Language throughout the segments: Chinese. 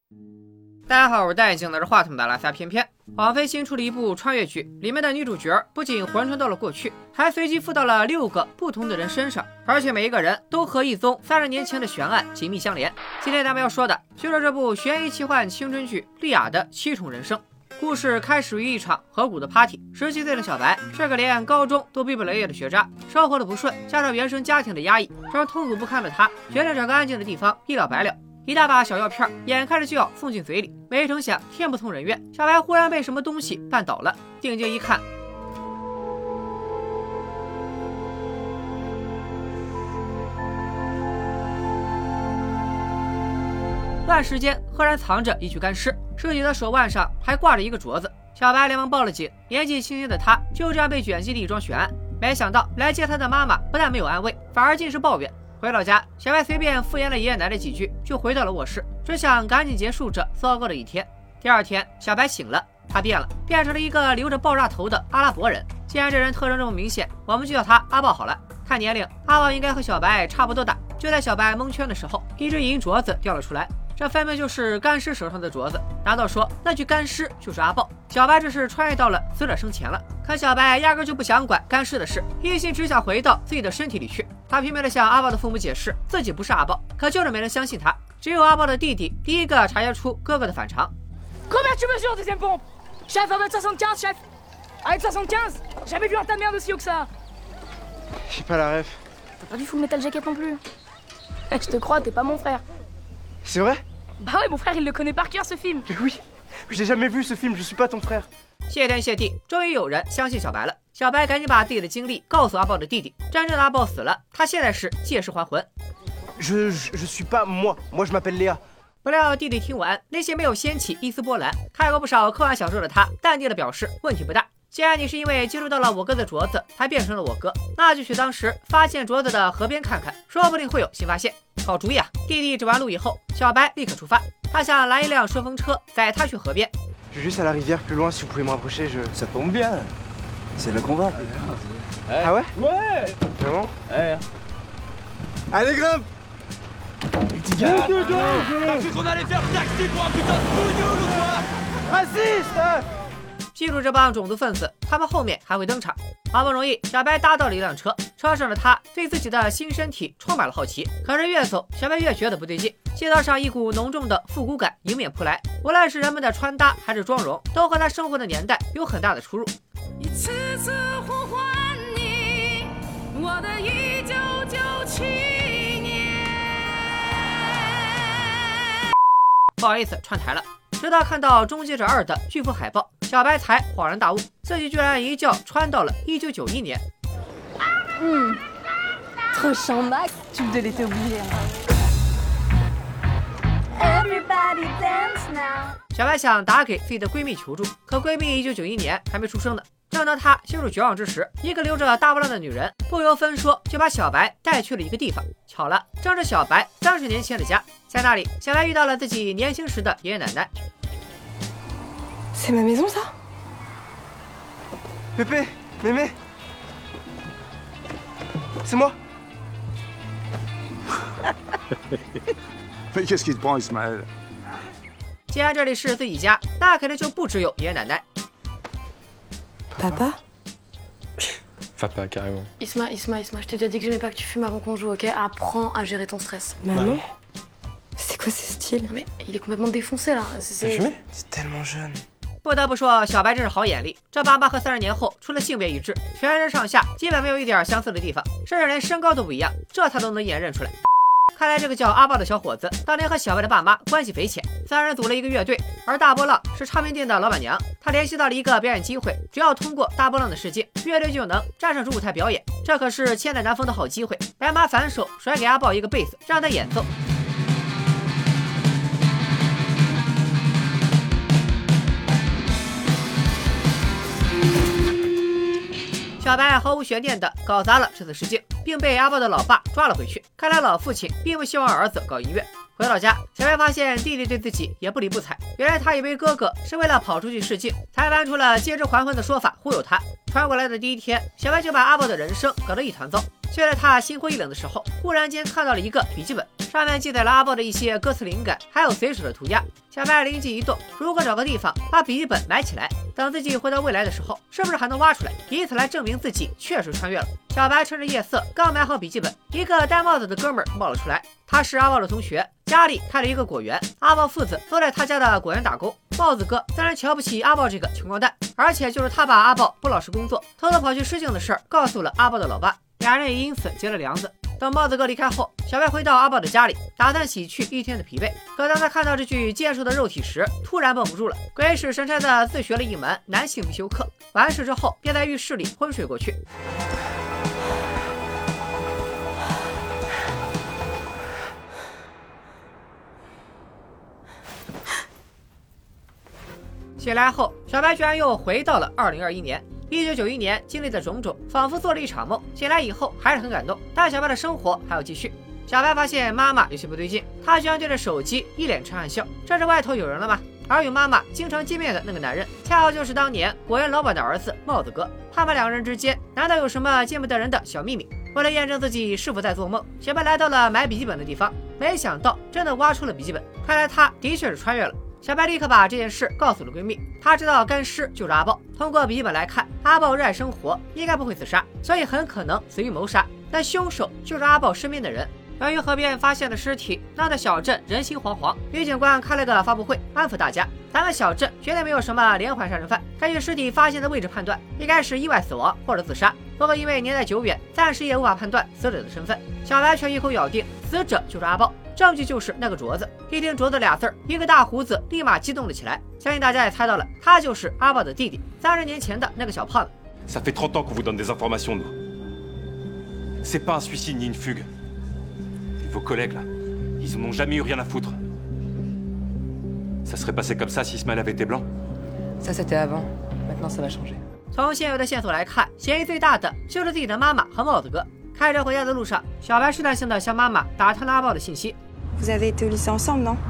大家好，我是戴眼镜拿着话筒的拉萨偏偏。网飞新出了一部穿越剧，里面的女主角不仅魂穿到了过去，还随机附到了6个不同的人身上，而且每一个人都和一宗30年前的悬案紧密相连。今天咱们要说的就是这部悬疑奇幻青春剧《莉亚的7重人生》。故事开始于一场河谷的 party。17岁的小白是个连高中都毕不了业的学渣，生活的不顺加上原生家庭的压抑，让痛苦不堪的他决定找个安静的地方一了百了。一大把小药片眼看着就要送进嘴里，没成想天不从人愿，小白忽然被什么东西绊倒了，定睛一看，乱石间赫然藏着一具干尸，尸体的手腕上还挂着一个镯子。小白连忙报了警，年纪轻轻的他就这样被卷进了一桩悬案。没想到来接他的妈妈不但没有安慰，反而尽是抱怨。回到家，小白随便敷衍了爷爷奶奶几句，就回到了卧室，只想赶紧结束这糟糕的一天。第二天，小白醒了，他变了，变成了一个留着爆炸头的阿拉伯人。既然这人特征这么明显，我们就叫他阿豹好了。看年龄，阿豹应该和小白差不多大。就在小白蒙圈的时候，一只银镯子掉了出来，这分明就是干尸手上的镯子。难道说那具干尸就是阿豹？小白这是穿越到了死者生前了。可小白压根就不想管干尸的事，一心只想回到自己的身体里去。他拼命地向阿豹的父母解释自己不是阿豹，可就是没人相信他。只有阿豹的弟弟第一个察觉出哥哥的反常。 Combien tu mesures, deuxième pompe? Chef, 1m75, chef. 1m75. Jamais vu un tas de merde aussi haut que ça. J'ai pas la ref. T'as pas vu Full Metal Jacket non plus? Je te crois, t'es pas mon frère. C'est vrai? Bah ouais, mon frère, il le connaît par cœur ce film. Mais oui, j'ai jamais vu ce film, je suis pas ton frère. 谢天谢地，终于有人相信小白了。小白赶紧把自己的经历告诉阿豹的弟弟。真正的阿豹死了，他现在是借尸还魂。 Je suis pas moi je m'appelle Léa。 不料弟弟听完，内心没有掀起一丝波澜。看过不少科幻小说的他，淡定的表示问题不大。既然你是因为接触到了我哥的镯子才变成了我哥，那就去当时发现镯子的河边看看，说不定会有新发现。好主意啊！弟弟指完路以后，小白立刻出发。他想拦一辆顺风车，载他去河边。 Je vais juste à la rivière plus loin, si vous pouvez me rapprocher, Ça tombe bien. C'est là qu'on va. Ah ouais? Ouais. Vraiment? Ouais. Allez, grimpe! T'as cru qu'on allait faire taxi pour un putain de pognon ou quoi? Raciste! 记住这帮种族分子，他们后面还会登场。好不容易，小白搭到了一辆车，车上的他对自己的新身体充满了好奇。可是越走，小白越觉得不对劲，街道上一股浓重的复古感迎面扑来，无论是人们的穿搭还是妆容，都和他生活的年代有很大的出入。 一次次呼唤你，我的1997年。 不好意思，串台了。直到看到《终结者2》的巨幅海报，小白才恍然大悟，自己居然一觉穿到了1991年。 Trop chiant, Max. Tu me l'étais oublié. Everybody dance now。 小白想打给自己的闺蜜求助，可闺蜜1991年还没出生呢。正当她陷入绝望之时，一个留着大波浪的女人不由分说就把小白带去了一个地方。巧了，正是小白30年前的家。在那里，小白遇到了自己年轻时的爷爷奶奶。 C'est ma maison, ça? Pépé, Mémé, c'est moi. Mais qu'est-ce qui te prend, Ismaël? 既然这里是自己家，那肯定就不只有爷爷奶奶。 Papa? Papa, carrément. Isma, je t'ai déjà dit que j'aimais pas que tu fumes avant qu'on joue, ok? Apprends à gérer ton stress. Maman? C'est quoi ce style? Mais il est complètement défoncé là. T'as fumé? C'est tellement jeune. 不得不说，小白真是好眼力。这爸妈和30年后除了性别一致，全身上下基本没有一点相似的地方，甚至连身高都不一样，这他都能一眼认出来。看来这个叫阿豹的小伙子当年和小白的爸妈关系匪浅，3人组了一个乐队，而大波浪是唱片店的老板娘。他联系到了一个表演机会，只要通过大波浪的试镜，乐队就能站上主舞台表演。这可是千载难逢的好机会。白马反手甩给阿豹一个贝斯，让他演奏。小白毫无悬念地搞砸了这次试镜，并被阿豹的老爸抓了回去。看来老父亲并不希望儿子搞音乐。回到家，小白发现弟弟对自己也不理不睬。原来他以为哥哥是为了跑出去试镜，才搬出了借尸还魂的说法忽悠他。传过来的第一天，小白就把阿豹的人生搞得一团糟。 就在他心灰意冷的时候，忽然间看到了一个笔记本，上面记载了阿豹的一些歌词灵感，还有随手的涂鸦。小白灵机一动，如果找个地方把笔记本埋起来，等自己回到未来的时候，是不是还能挖出来，以此来证明自己确实穿越了？小白趁着夜色刚埋好笔记本，一个戴帽子的哥们儿冒了出来，他是阿豹的同学，家里开了一个果园，阿豹父子都在他家的果园打工。帽子哥自然瞧不起阿豹这个穷光蛋，而且就是他把阿豹不老实工作，偷偷跑去试镜的事儿告诉了阿豹的老爸，俩人也因此结了梁子。等帽子哥离开后，小白回到阿豹的家里，打算洗去一天的疲惫。可当他看到这具健硕的肉体时，突然绷不住了，鬼使神差的自学了一门男性必修课。完事之后，便在浴室里昏睡过去。醒来后，小白居然又回到了2021年。1991年经历的种种，仿佛做了一场梦。醒来以后还是很感动，但小白的生活还要继续。小白发现妈妈有些不对劲，她居然对着手机一脸痴汉笑。这是外头有人了吗？而与妈妈经常见面的那个男人，恰好就是当年果园老板的儿子帽子哥。他们两个人之间难道有什么见不得人的小秘密？为了验证自己是否在做梦，小白来到了埋笔记本的地方，没想到真的挖出了笔记本。看来他的确是穿越了。小白立刻把这件事告诉了闺蜜，她知道干尸就是阿豹。通过笔记本来看，阿豹热爱生活，应该不会自杀，所以很可能随意谋杀。但凶手就是阿豹身边的人。由于河边发现的尸体闹得小镇人心惶惶，女警官开了个发布会安抚大家，咱们小镇绝对没有什么连环杀人犯，根据尸体发现的位置判断，应该是意外死亡或者自杀。不过因为年代久远，暂时也无法判断死者的身份。小白却一口咬定死者就是阿豹，证据就是那个镯子。一听镯子俩字儿，一个大胡子立马激动了起来。相信大家也猜到了，他就是阿豹的弟弟，30年前的那个小胖子。 Ça fait 30 ans qu'on vous donne des informations, nous. C'est pas un suicide ni une fugue. Vos collègues, là, ils en ont jamais eu rien à foutre. Ça serait passé comme ça si Ismaël avait été blanc. Ça, c'était avant. Maintenant, ça va changer. 从现有的线索来看，嫌疑最大的就是自己的妈妈和帽子哥。开车回家的路上，小白试探性的向妈妈打探了阿豹的信息。 Vous avez été au lycée ensemble, non?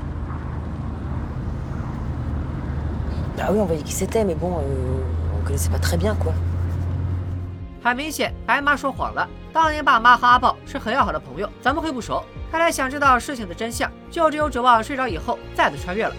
Ah oui, on voyait qui c'était, mais bon, on connaissait pas très bien, quoi. 很明显，白妈说谎了。当年爸妈和阿豹是很要好的朋友，怎么会不熟？看来想知道事情的真相，就只有指望睡着以后再次穿越了。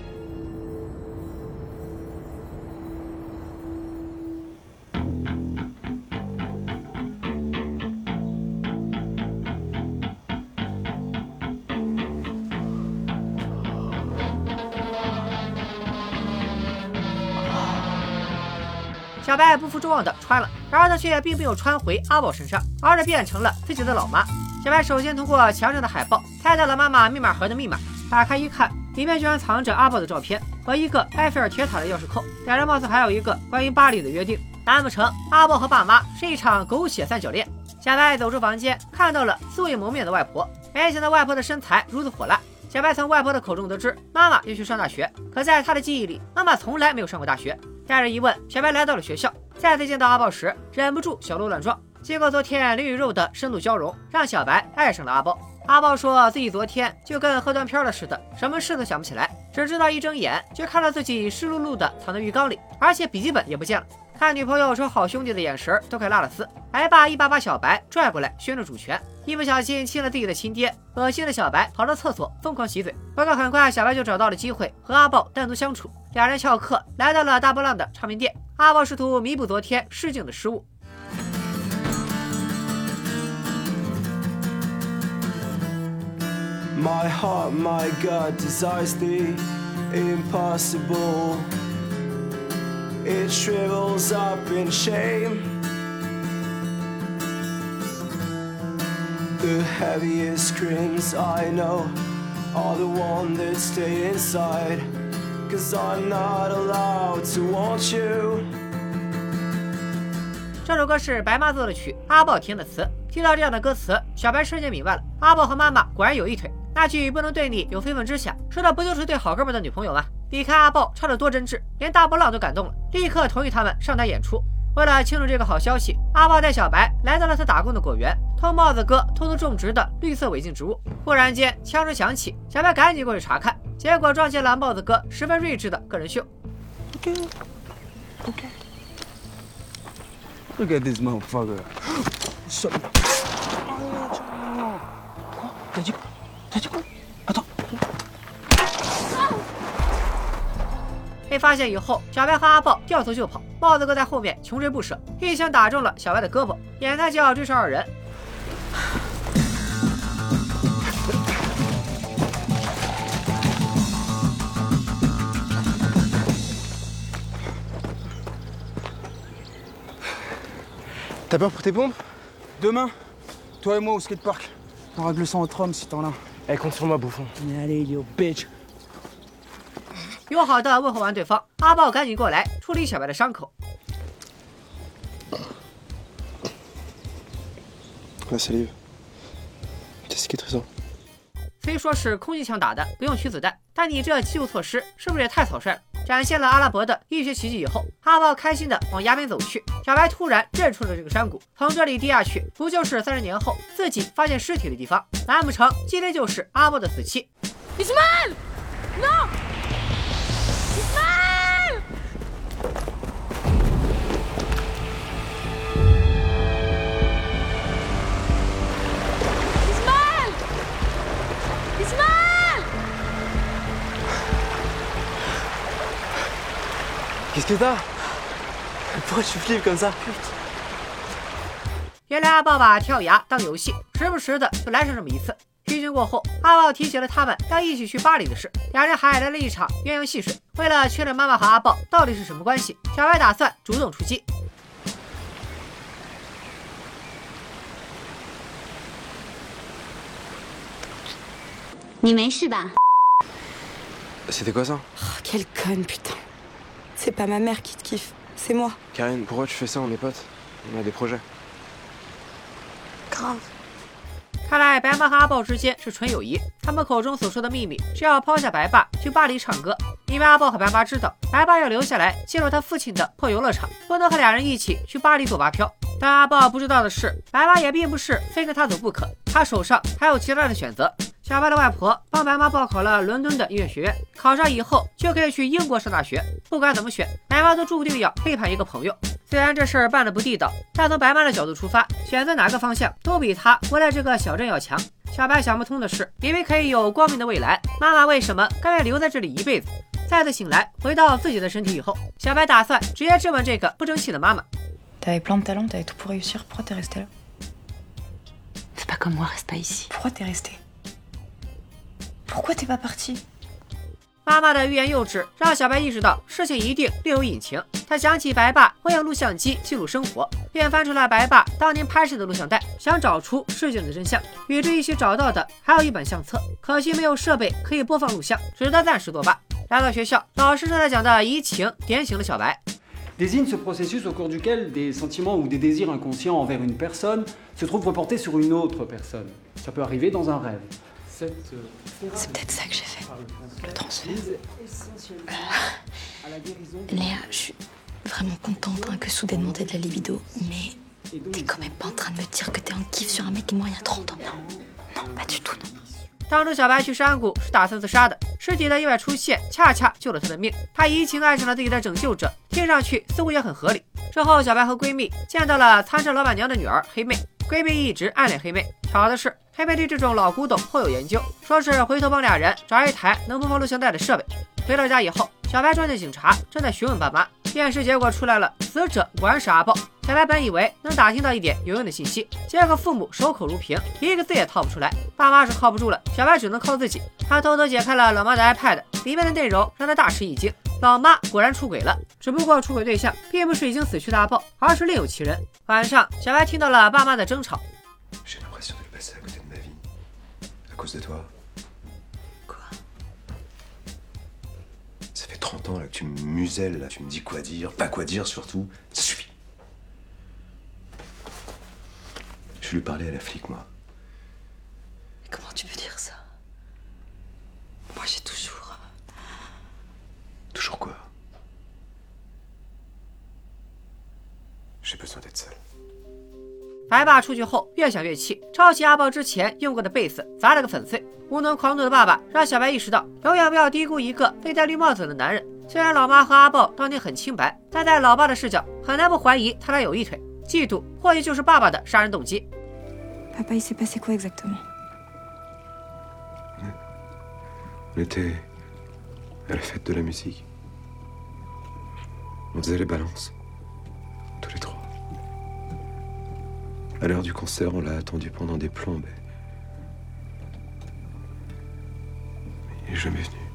小白不负众望的穿了，然而他却并没有穿回阿豹身上，而是变成了自己的老妈。小白首先通过墙上的海报猜到了妈妈密码盒的密码，打开一看，里面居然藏着阿豹的照片和一个埃菲尔铁塔的钥匙扣，两人貌似还有一个关于巴黎的约定。难不成阿豹和爸妈是一场狗血三角恋？小白走出房间，看到了素未谋面的外婆，没想到外婆的身材如此火辣。小白从外婆的口中得知，妈妈要去上大学，可在他的记忆里，妈妈从来没有上过大学。带着疑问，小白来到了学校，再次见到阿豹时，忍不住小鹿乱撞。经过昨天灵与肉的深度交融，让小白爱上了阿豹。阿豹说自己昨天就跟喝断片了似的，什么事都想不起来，只知道一睁眼就看到自己湿漉漉的躺在浴缸里，而且笔记本也不见了。看女朋友说好兄弟的眼神都快拉了丝，白爸一把把小白拽过来宣着主权，一不小心亲了自己的亲爹，恶心的小白跑到厕所疯狂洗嘴。不过很快小白就找到了机会和阿豹单独相处，俩人翘课来到了大波浪的唱片店，阿豹试图弥补昨天试镜的失误。 My heart, my gut desires the impossible. It shrivels up in shame. The heaviest screams I know are the ones that stay inside. 'Cause I'm not allowed to want you. 这首歌是白妈做的曲，阿豹填的词。听到这样的歌词，小白瞬间明白了，阿豹和妈妈果然有一腿。那句不能对你有非分之想，说的不就是对好哥们的女朋友吗？你看阿豹唱得多真挚，连大波浪都感动了，立刻同意他们上台演出。为了庆祝这个好消息，阿豹带小白来到了他打工的果园，偷帽子哥偷偷种植的绿色违禁植物。忽然间枪声响起，小白赶紧过去查看，结果撞见了帽子哥十分睿智的个人秀。 Look at this motherfucker. 被发现以后，小白和阿豹掉头就跑，帽子哥在后面穷追不舍，一枪打中了小白的胳膊，眼看就要追上二人。 T'as peur pour tes pompes? Demain, toi et moi au skatepark. On règle ça entre hommes si t'en as. Eh, compte sur moi, bouffon. Mais allez, idiot, bitch. 友好的问候完对方，阿豹赶紧过来处理小白的伤口。 La salive. T'es cicatrisant. 虽说是空气枪打的，不用取子弹，但你这急救措施是不是也太草率了？展现了阿拉伯的医学奇迹以后，阿豹开心的往崖边走去。小白突然认出了这个山谷，从这里跌下去，不就是30年后自己发现尸体的地方？难不成今天就是阿豹的死期？ Ismaël Non Ismaël Ismaël Ismaël Qu'est-ce que t'as? Pourquoi tu flippes comme ça? 原来阿豹把跳崖当游戏，时不时的就来上这么一次。剧情过后，阿豹提起了他们要一起去巴黎的事，两人还来了一场鸳鸯戏水。为了确认妈妈和阿豹到底是什么关系，小白打算主动出击。 你没事吧？ C'était quoi ça? Oh, quelle conne, putain. C'est pas ma mère qui te kiffe, c'est moi. Karine, pourquoi tu fais ça? On est potes. On a des projets. Grave. 看来白妈和阿豹之间是纯友谊，他们口中所说的秘密是要抛下白爸去巴黎唱歌，因为阿豹和白妈知道白爸要留下来进入他父亲的破游乐场，不能和俩人一起去巴黎做蛙漂。但阿豹不知道的是，白妈也并不是非跟他走不可，他手上还有其他的选择。小白的外婆帮白妈报考了伦敦的音乐学院，考上以后就可以去英国上大学。不管怎么选，白妈都注定要背叛一个朋友。虽然这事儿办得不地道，但从白妈的角度出发，选择哪个方向都比他活在这个小镇要强。小白想不通的是，明明可以有光明的未来，妈妈为什么甘愿留在这里一辈子？再次醒来，回到自己的身体以后，小白打算直接质问这个不争气的妈妈。 T'avais plein de talent, t'avais tout pour réussir. Pourquoi t'es resté là? Fais pas comme moi, reste pas ici. Pourquoi t'es resté? Pourquoi t'es pas parti? 妈妈的欲言又止，让小白意识到事情一定另有隐情。他想起白爸会用录像机记录生活，便翻出了白爸当年拍摄的录像带，想找出事情的真相。与之一起找到的还有一本相册，可惜没有设备可以播放录像，只得暂时作罢。来到学校，老师正在讲的移情点醒了小白。 désigne ce processus au cours duquel des sentiments ou des désirs inconscients envers une personne se trouvent reportés sur une autre personne. Ça peut arriver dans un rêve. C'est peut-être ça que j'ai fait, le transfert. Léa, je suis vraiment contente que soudainement t'aies de la libido, mais t'es quand même pas en train de me dire que t'es en kiff sur un mec qui est mort il y a 30 ans, non? Non, pas du tout, non. 当初小白去山谷是打算自杀的，尸体的意外出现恰恰救了他的命。他移情爱上了自己的拯救者，听上去似乎也很合理。之后，小白和闺蜜见到了餐车老板娘的女儿黑妹，闺蜜一直暗恋黑妹。巧的是，黑妹对这种老古董颇有研究，说是回头帮俩人找一台能播放录像带的设备。回到家以后，小白撞见警察正在询问爸妈，验尸结果出来了，死者果然是阿豹。小白本以为能打听到一点有用的信息，结果父母守口如瓶，一个字也套不出来。爸妈是靠不住了，小白只能靠自己。他偷偷解开了老妈的 iPad， 里面的内容让他大吃一惊。老妈果然出轨了，只不过出轨对象并不是已经死去的阿豹，而是另有其人。晚上，小白听到了爸妈的争吵。 J'ai l'impression de passer à côté de ma vie. À cause de toi. Quoi? Ça fait 30 ans là, que tu me muselles, là. Tu me dis quoi dire, pas quoi dire surtout. Ça suffit. Je vais lui parler à la flic, moi. Mais comment tu peux dire ça? Moi j'ai toujours... Toujours quoi? J'ai besoin d'être seul. 白爸出去后越想越气，抄起阿豹之前用过的贝斯砸了个粉碎。无能狂怒的爸爸让小白意识到，永远不要低估一个被戴绿帽子的男人。虽然老妈和阿豹当年很清白，但在老爸的视角，很难不怀疑他俩有一腿。 嫉妒，或许就是爸爸的杀人动机。 Papa, il s'est passé quoi exactement? On était à la fête de la musique. On faisait les balances. Tous les trois. À l'heure du concert, on l'a attendu pendant des plombes. Il est jamais venu.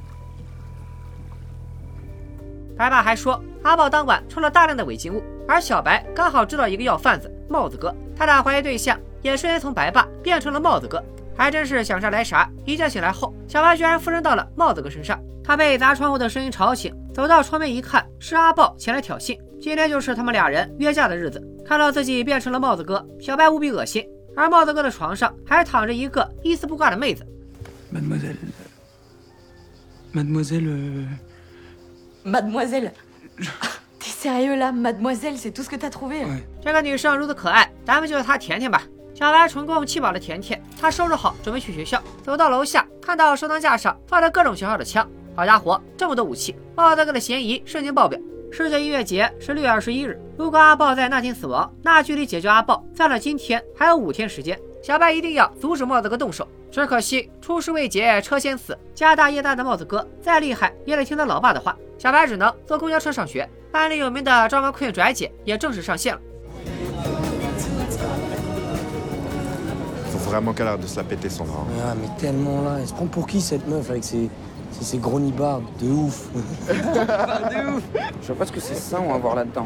白爸还说，阿豹当晚抽了大量的违禁物，而小白刚好知道一个要贩子帽子哥，他的怀疑对象也瞬间从白爸变成了帽子哥，还真是想啥来啥。一觉醒来后，小白居然附身到了帽子哥身上。他被砸窗户的声音吵醒，走到窗边一看，是阿豹前来挑衅。今天就是他们俩人约架的日子。看到自己变成了帽子哥，小白无比恶心。而帽子哥的床上还躺着一个一丝不挂的妹子。 Mademoiselle. T'es sérieux là? Mademoiselle, c'est tout ce que t'as trouvé? 这个女生如此可爱，咱们就叫她甜甜吧。小白成功气饱了甜甜，她收拾好准备去学校，走到楼下看到收藏架上放着各种型号的枪，好家伙，这么多武器，帽子哥的嫌疑瞬间爆表。世界音乐节是6月21日，如果阿豹在那天死亡，那距离解决阿豹算了今天还有5天时间。小白一定要阻止帽子哥动手，只可惜出师未捷车先死，家大业大的帽子哥再厉害也得听他老爸的话。小白只能坐公交车上学。班里有名的张文困拽姐也正式上线了。 Faut vraiment qu'elle arrête de se la péter son nom. Ah mais tellement là, elle se prend pour qui cette meuf avec ses gros nibards de ouf. De ouf. Je vois pas ce que c'est ça on va voir là-dedans.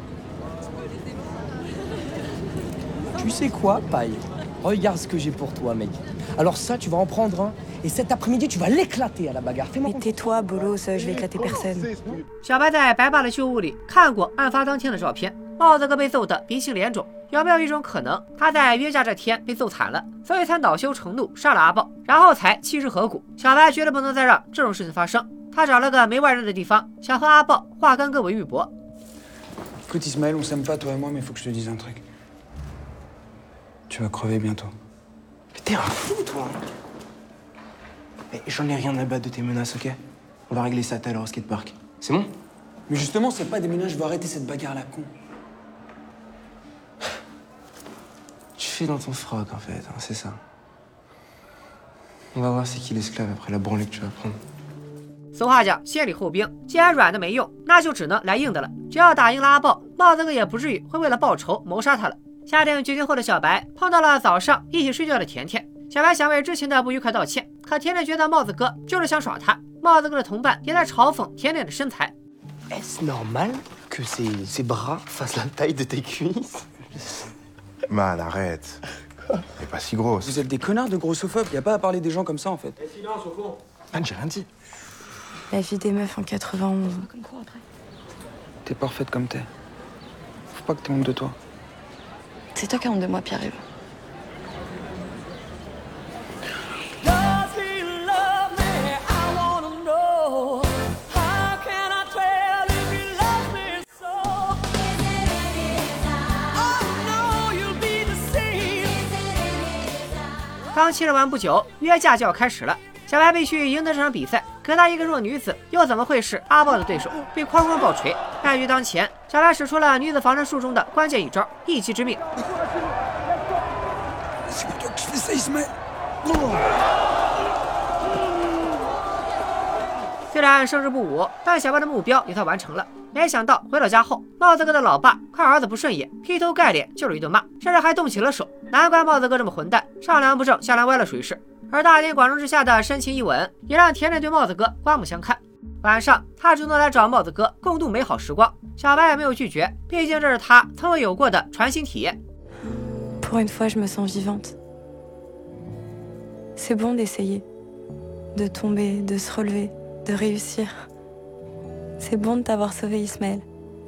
Tu sais quoi, Paille? Regarde ce que j'ai pour toi, mec. Alors ça, tu vas en prendre un. Et cet après-midi, tu vas l'éclater à la bagarre. Mais tais-toi, bolos, je vais éclater personne. 小白在白爸的旧屋里看过案发当天的照片，帽子哥被揍得鼻青脸肿。有没有一种可能，他在约架这天被揍惨了，所以才恼羞成怒杀了阿豹，然后才弃尸河谷？小白绝对不能再让这种事情发生。他找了个没外人的地方，想和阿豹化干戈为玉帛。 Écoute Ismaël, on s'aime pas toi et moi, mais faut que je te dise un truc. Tu vas crever bientôt. Mais t'es un fou, toi. Mais j'en ai rien à battre de tes menaces, ok? On va régler ça tout à l'heure au skatepark. C'est bon? Mais justement, c'est pas des menaces, je veux arrêter cette bagarre à la con. Tu fais dans ton froc, en fait, hein, c'est ça. On va voir c'est qui l'esclave après la branlée que tu vas prendre. 俗话讲先礼后兵，既然软的没用，那就只能来硬的了。只要打赢了阿豹，帽子哥也不至于会为了报仇谋杀他了。下定决心后的小白碰到了早上一起睡觉的甜甜，小白想为之前的不愉快道歉，可甜甜觉得帽子哥就是想耍他。帽子哥的同伴也在嘲讽甜甜的身材。 Est-ce normal que ses bras fassent la taille de tes cuisses? Man, arrête. Elle est pas si grosse. Vous êtes des connards de grossophobes, y a pas à parler des gens comme ça en fait. Silence au fond. Man, j'ai rien dit. La vie des meufs en 91. T'es parfaite comme t'es. Faut pas que t'aies honte de toi. C'est toi qui as honte de moi, Pierre-Yves. « 刚切完不久，约架就要开始了。小白必须赢得这场比赛，可他一个弱女子，又怎么会是阿豹的对手？被哐哐暴锤，败局当前，小白使出了女子防身术中的关键一招——一击致命。虽然胜之不武，但小白的目标也算完成了。没想到回到家后，帽子哥的老爸看儿子不顺眼，劈头盖脸就是一顿骂，甚至还动起了手。难怪帽子哥这么混蛋，上梁不正下梁歪了属于是。而大庭广众之下的深情一吻，也让甜甜对帽子哥刮目相看。晚上，他主动来找帽子哥共度美好时光，小白也没有拒绝，毕竟这是他从未有过的传新体验。 Pour une fois, je me sens vivante. C'est bon d'essayer, de tomber, de se relever, de réussir. C'est bon de t'avoir sauvé, Ismaël.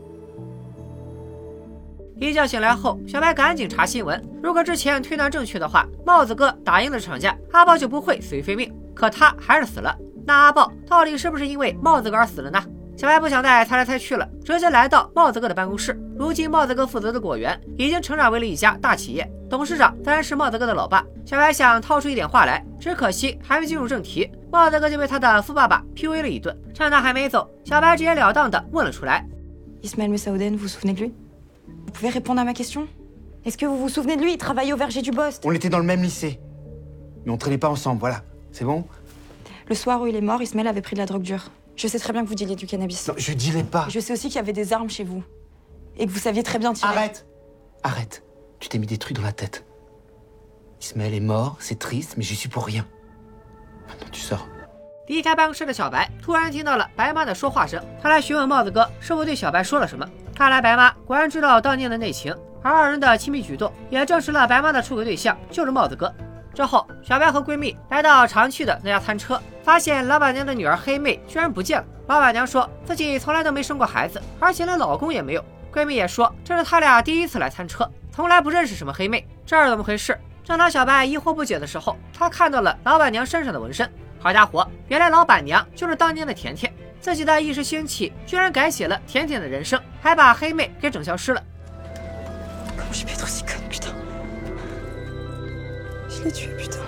一觉醒来后，小白赶紧查新闻。如果之前推断正确的话，帽子哥打赢了这场架，阿豹就不会死于非命。可他还是死了。那阿豹到底是不是因为帽子哥而死了呢？小白不想再猜来猜去了，直接来到帽子哥的办公室。如今帽子哥负责的果园已经成长为了一家大企业，董事长自然是帽子哥的老爸。小白想掏出一点话来，只可惜还没进入正题，帽子哥就被他的富爸爸 PUA 了一顿。趁他还没走，小白直截了当的问了出来 ：Ismaël Messaouden, vous vous souvenez de lui? Vous pouvez répondre à ma question? Est-ce que vous vous souvenez de lui? Il travaillait au verger du Bost. On était dans le même lycée. Mais on traînait pas ensemble, voilà. C'est bon? Le soir où il est mort, Ismaël avait pris de la drogue dure. Je sais très bien que vous dealiez du cannabis. Non, je dealais pas. Je sais aussi qu'il y avait des armes chez vous. Et que vous saviez très bien tirer. Arrête! Arrête. Tu t'es mis des trucs dans la tête. Ismaël est mort, c'est triste, mais j'y suis pour rien. Maintenant, tu sors. 离开办公室的小白突然听到了白妈的说话声，他来询问帽子哥是否对小白说了什么。看来白妈果然知道当年的内情，而二人的亲密举动也证实了白妈的出轨对象就是帽子哥。之后，小白和闺蜜来到常去的那家餐车，发现老板娘的女儿黑妹居然不见了。老板娘说自己从来都没生过孩子，而且连老公也没有。闺蜜也说这是他俩第一次来餐车，从来不认识什么黑妹。这是怎么回事？正当小白疑惑不解的时候，他看到了老板娘身上的纹身。好家伙，原来老板娘就是当年的甜甜。自己的一时兴起，居然改写了甜甜的人生，还把黑妹给整消失了。 J'ai pu être aussi conne, putain. Je l'ai tué, putain.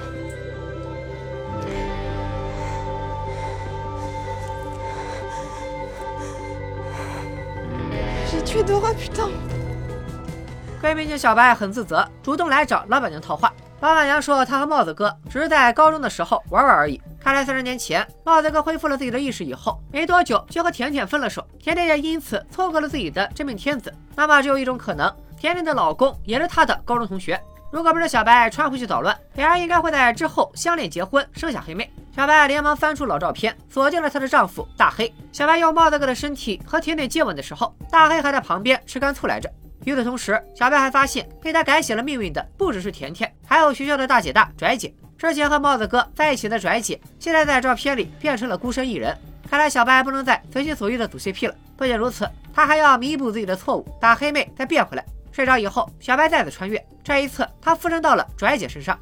J'ai tué Dora, putain. 闺蜜见小白很自责，主动来找老板娘套话。老板娘说她和帽子哥只是在高中的时候玩玩而已。看来30年前帽子哥恢复了自己的意识以后，没多久就和甜甜分了手，甜甜也因此错过了自己的真命天子。那么只有一种可能，甜甜的老公也是她的高中同学。如果不是小白穿回去捣乱，两人应该会在之后相恋结婚，生下黑妹。小白连忙翻出老照片，锁定了她的丈夫大黑。小白用帽子哥的身体和甜甜接吻的时候，大黑还在旁边吃干醋来着。与此同时，小白还发现被他改写了命运的不只是甜甜，还有学校的大姐大拽姐。之前和帽子哥在一起的拽姐，现在在照片里变成了孤身一人。看来小白不能再随心所欲的组 CP 了。不仅如此，他还要弥补自己的错误，打黑妹再变回来。睡着以后，小白再次穿越，这一次他附身到了拽姐身上。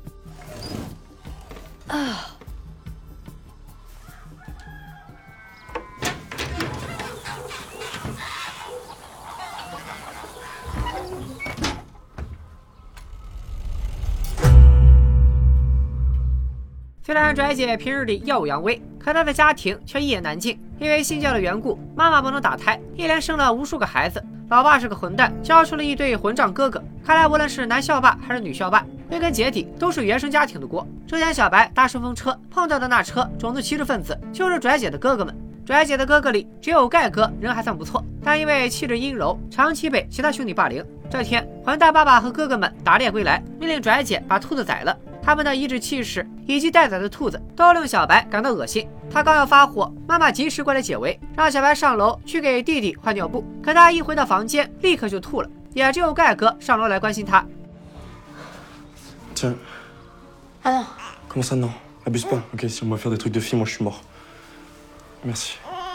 虽然拽姐平日里耀武扬威，可她的家庭却一言难尽。因为信教的缘故，妈妈不能打胎，一连生了无数个孩子。老爸是个混蛋，教出了一对混账哥哥。看来无论是男校霸还是女校霸，归根结底都是原生家庭的锅。之前小白搭顺风车碰到的那车种族歧视分子，就是拽姐的哥哥们。拽姐的哥哥里只有盖哥人还算不错，但因为气质阴柔，长期被其他兄弟霸凌。这天，混蛋爸爸和哥哥们打猎归来，命令拽姐把兔子宰了。他们的颐指气使以及待宰的兔子都令小白感到恶心。他刚要发火，妈妈及时过来解围，让小白上楼去给弟弟换尿布。可他一回到房间，立刻就吐了。也只有盖哥上楼来关心他。 Tiens. Ah non. Comment ça non? Abuse pas. Ok, si on va faire des trucs de fille, moi je suis mort. Merci.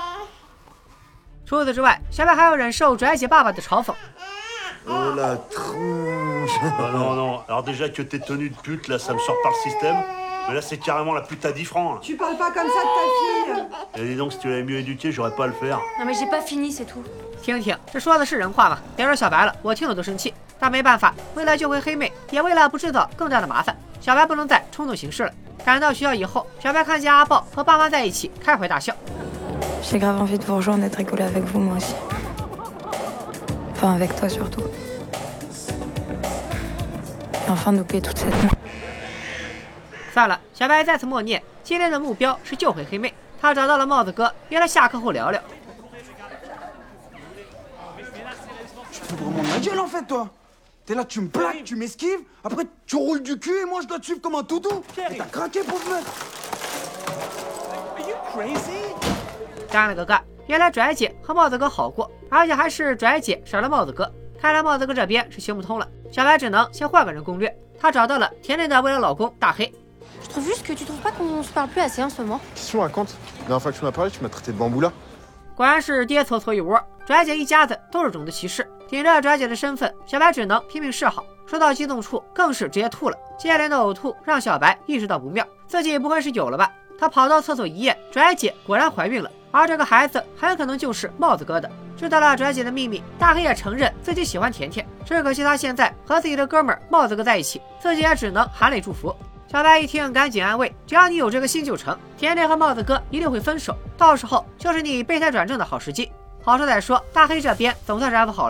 除此之外，小白还要忍受拽姐爸爸的嘲讽。 Oh la tronche. Ah non, non. Alors déjà que tes tenues de pute, là, ça me sort par le système. Mais là, c'est carrément la pute à 10 francs. Là. Tu parles pas comme ça de ta fille. Et dis donc, si tu l'avais mieux éduquée, j'aurais pas à le faire. Non mais j'ai pas fini, c'est tout. 听听，这说的是人话吗？别说小白了，我听了都生气。但没办法，为了救回黑妹，也为了不制造更大的麻烦，小白不能再冲动行事了。赶到学校以后，小白看见阿豹和爸妈在一起，开怀大笑。 J'ai grave envie de vous rejoindre et de rigoler avec vous, moi aussi. Enfin, avec toi surtout. Et enfin d'oublier toute cette merde. 算了，小白再次默念，今天的目标是救回黑妹。他找到了帽子哥，约了下课后聊聊。 Tu te fous vraiment de ma gueule en fait, toi. T'es là, tu me plaques, tu m'esquives, après tu roules du cul et moi je dois te suivre comme un toutou. Et t'as craqué, pauvre meuf. Are you crazy? 干了个干！原来拽姐和帽子哥好过，而且还是拽姐甩了帽子哥。看来帽子哥这边是行不通了，小白只能先换个人攻略。他找到了甜甜的未来老公大黑。 Je trouve juste que tu trouves pas qu'on se parle plus assez en ce moment. Qu'est-ce que tu me racontes? La dernière fois que tu m'as parlé, tu m'as traité de bamboula. 果然是爹搓搓一窝，拽姐一家子都是种族歧视。顶着拽姐的身份，小白只能拼命示好。说到激动处，更是直接吐了。接连的呕吐让小白意识到不妙，自己不会是有了吧？他跑到厕所一验，拽姐果然怀孕了，而这个孩子很可能就是帽子哥的。知道了拽姐的秘密，大黑也承认自己喜欢甜甜，只可惜他现在和自己的哥们儿帽子哥在一起，自己也只能含泪祝福。小白一听，赶紧安慰：“只要你有这个心就成，甜甜和帽子哥一定会分手，到时候就是你备胎转正的好时机。”好说歹说，大黑这边总算是安抚好了。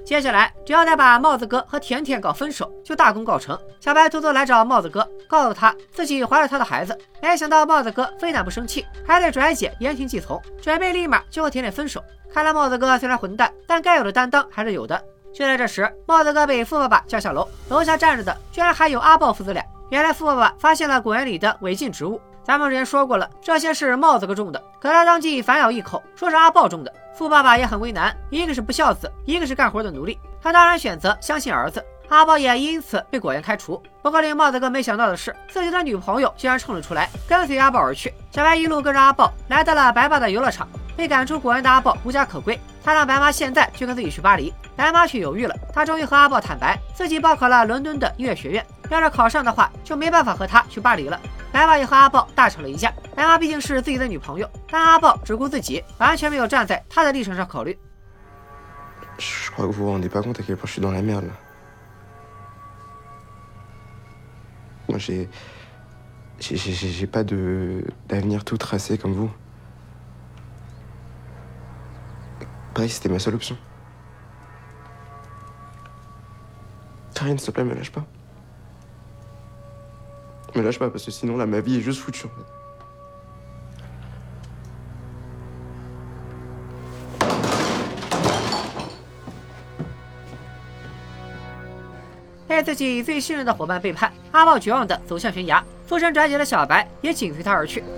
接下来只要再把帽子哥和甜甜搞分手，就大功告成。小白偷偷来找帽子哥，告诉他自己怀了他的孩子。没想到帽子哥非但不生气，还对拽姐言听计从，准备立马就和甜甜分手。看来帽子哥虽然混蛋，但该有的担当还是有的。就在这时，帽子哥被富爸爸叫下楼，楼下站着的居然还有阿豹父子俩。原来富爸爸发现了果园里的违禁植物，咱们之前说过了，这些是帽子哥种的，可他当即反咬一口，说是阿豹种的。富爸爸也很为难，一个是不孝子，一个是干活的奴隶，他当然选择相信儿子。阿豹也因此被果园开除。不过令帽子哥没想到的是，自己的女朋友竟然冲了出来，跟随阿豹而去。小白一路跟着阿豹来到了白爸的游乐场。被赶出果园的阿豹无家可归，他让白妈现在就跟自己去巴黎。白妈却犹豫了，她终于和阿豹坦白，自己报考了伦敦的音乐学院，要是考上的话，就没办法和他去巴黎了。白妈也和阿豹大吵了一架。白妈毕竟是自己的女朋友，但阿豹只顾自己，完全没有站在他的立场上考虑。 Je crois que vous vous rendez pas compte à quel point je suis dans la merde là. Moi j'ai pas d'avenir tout tracé comme vous. Paris c'était ma seule option. Karine, s'il te plaît, me lâche pas. Me lâche pas parce que sinon là ma vie est juste foutue en fait. 被自己最信任的伙伴背叛，阿豹绝望地走向悬崖，附身拽姐的小白也紧随他而去。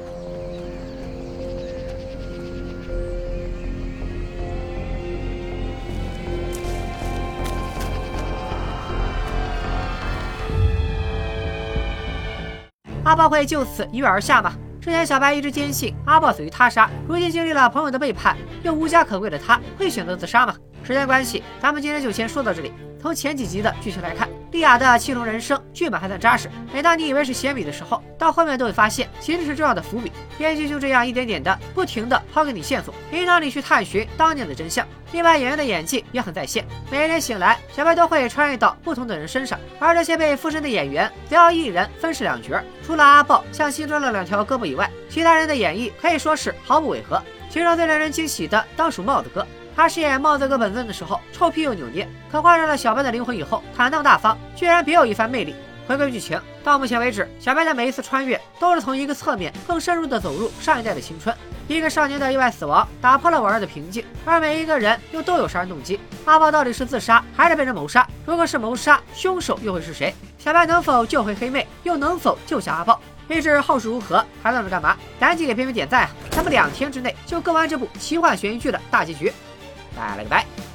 阿豹会就此一跃而下吗？之前小白一直坚信阿豹死于他杀，如今经历了朋友的背叛，又无家可归的他会选择自杀吗？时间关系，咱们今天就先说到这里。从前几集的剧情来看，莉亚的七重人生剧本还算扎实。每当你以为是闲笔的时候，到后面都会发现其实是重要的伏笔。编剧就这样一点点的不停的抛给你线索，引导你去探寻当年的真相。另外，演员的演技也很在线。每天醒来，小白都会穿越到不同的人身上，而这些被附身的演员则要一人分饰两角。除了阿豹像新装了2条胳膊以外，其他人的演绎可以说是毫不违和。其中最令人惊喜的当属帽子哥。他饰演帽子哥本尊的时候，臭屁又扭捏，可换上了小白的灵魂以后，坦荡大方，居然别有一番魅力。回归剧情，到目前为止，小白的每一次穿越都是从一个侧面更深入的走入上一代的青春。一个少年的意外死亡打破了往日的平静，而每一个人又都有杀人动机。阿豹到底是自杀还是被人谋杀？如果是谋杀，凶手又会是谁？小白能否救回黑妹，又能否救下阿豹？未知后事如何，还等着干嘛？赶紧给片尾点赞啊！咱们2天之内就更完这部奇幻悬疑剧的大结局。拜了个拜。